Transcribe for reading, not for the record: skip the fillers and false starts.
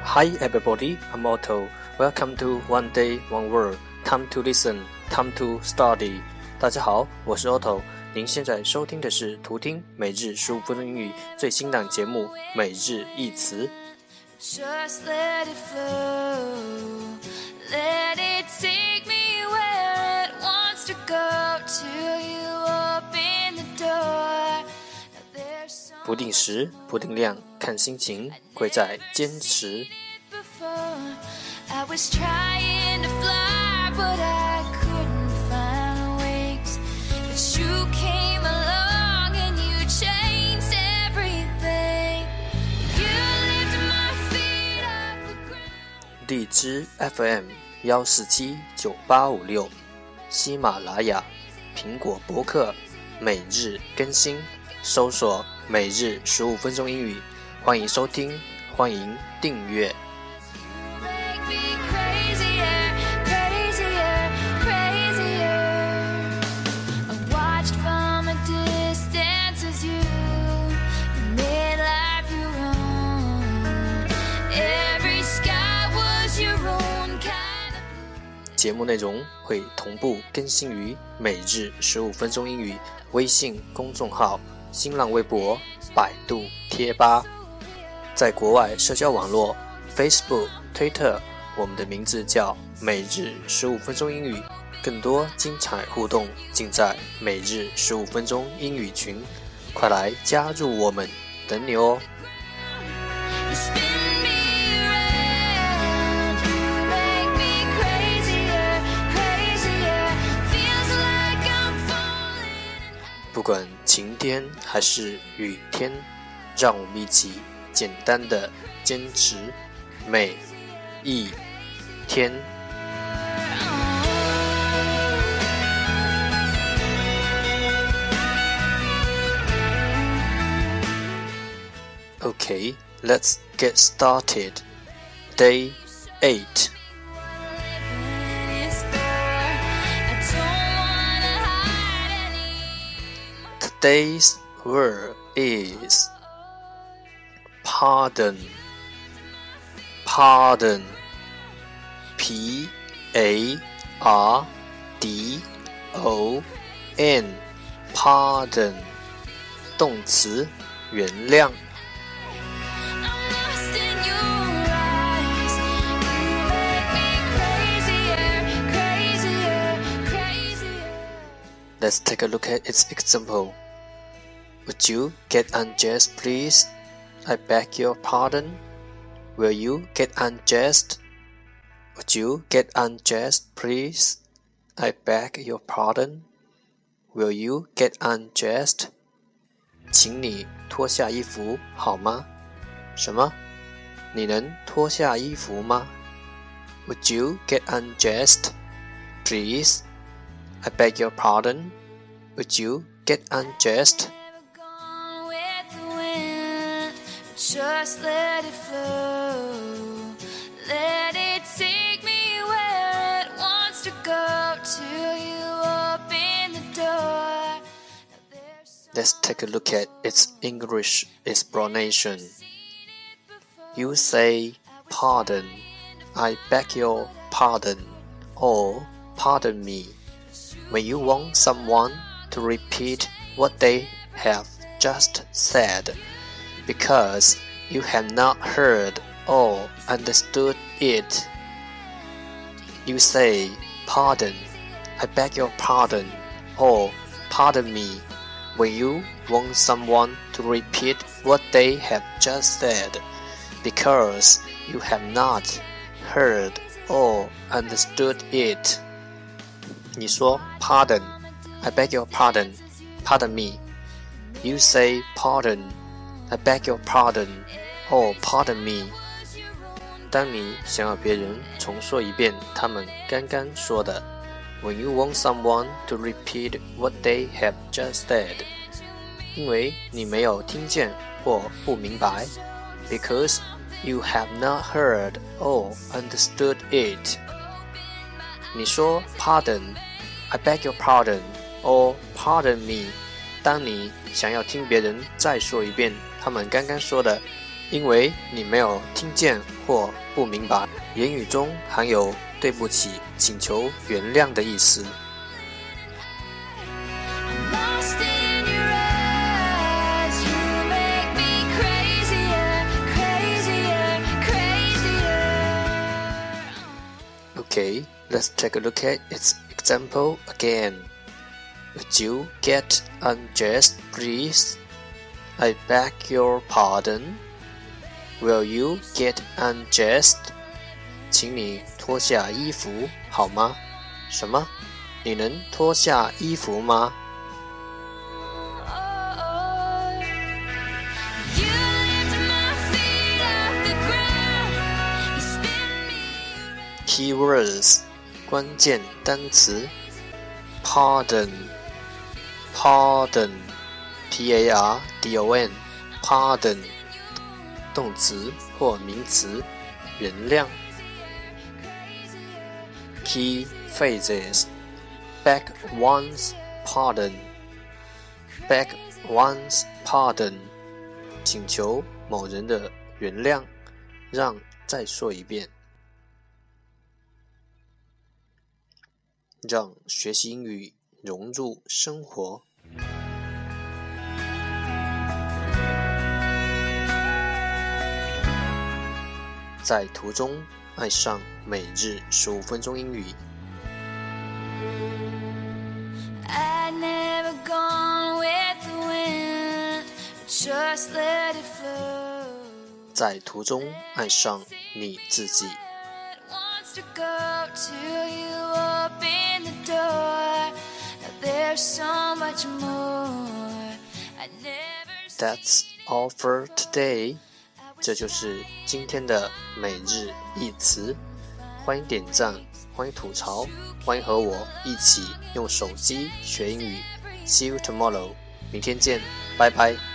Hi everybody, I'm Otto. Welcome to One Day, One Word. Time to listen, time to study. 大家好，我是 Otto。您现在收听的是图听每日15分钟英语最新档节目每日一词。 Just let it flow, let it take me where it wants to go till you open the door. 不定时，不定量，看心情，贵在坚持。 I was trying to fly, but I couldn't find wings. But you came along and you changed everything. You lifted my feet off the ground. 荔枝 FM 1479856，喜马拉雅、苹果播客每日更新，搜索每日15分钟英语，欢迎收听，欢迎订阅。节目内容会同步更新于每日15分钟英语微信公众号、新浪微博、百度贴吧。在国外社交网络 Facebook、Twitter， 我们的名字叫每日15分钟英语。更多精彩互动尽在每日15分钟英语群，快来加入我们，等你哦。不管晴天还是雨天，让我们一起简单的坚持每一天。Okay, let's get started. Day 8. Today's word is pardon. Pardon. P-A-R-D-O-N. Pardon. 动词，原谅。Let's take a look at its example. Would you get unjust, please? I beg your pardon. Will you get unjust? Would you get unjust, please? I beg your pardon. Will you get unjust? 请你脱下衣服好吗？什么？你能脱下衣服吗？ Would you get unjust, please? I beg your pardon. Would you get unjust? Just let it flow. Let it take me where it wants to go till you open the door. Let's take a look at its English explanation. You say pardon, I beg your pardon, or pardon me, when you want someone to repeat what they have just said, because you have not heard or understood it. You say, pardon, I beg your pardon, or pardon me, when you want someone to repeat what they have just said, because you have not heard or understood it. 你说 pardon, I beg your pardon, pardon me. You say pardon, I beg your pardon, or pardon me. 当你想要别人重说一遍他们刚刚说的 When you want someone to repeat what they have just said. 因为你没有听见或不明白 Because you have not heard or understood it. 你说 pardon, I beg your pardon, or pardon me. 当你想要听别人再说一遍他们刚刚说的因为你没有听见或不明白，言语中含有对不起、请求原谅的意思。Okay, let's take a look at its example again. Would you get undressed, please? I beg your pardon. Will you get undressed? 请你脱下衣服好吗？什么？你能脱下衣服吗？Keywords 关键单词 Pardon P-A-R-D-O-N Pardon 动词或名词原谅 Key phrases Beg one's pardon Beg one's pardon 请求某人的原谅让再说一遍让学习英语融入生活。在途中爱上每日15分钟英语。在途中爱上你自己。That's all for today. 这就是今天的每日一词。欢迎点赞，欢迎吐槽，欢迎和我一起用手机学英语。See you tomorrow. 明天见，拜拜。